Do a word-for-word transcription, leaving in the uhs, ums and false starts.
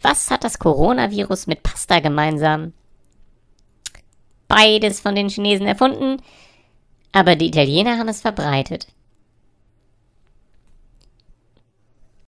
Was hat das Coronavirus mit Pasta gemeinsam? Beides von den Chinesen erfunden, aber die Italiener haben es verbreitet.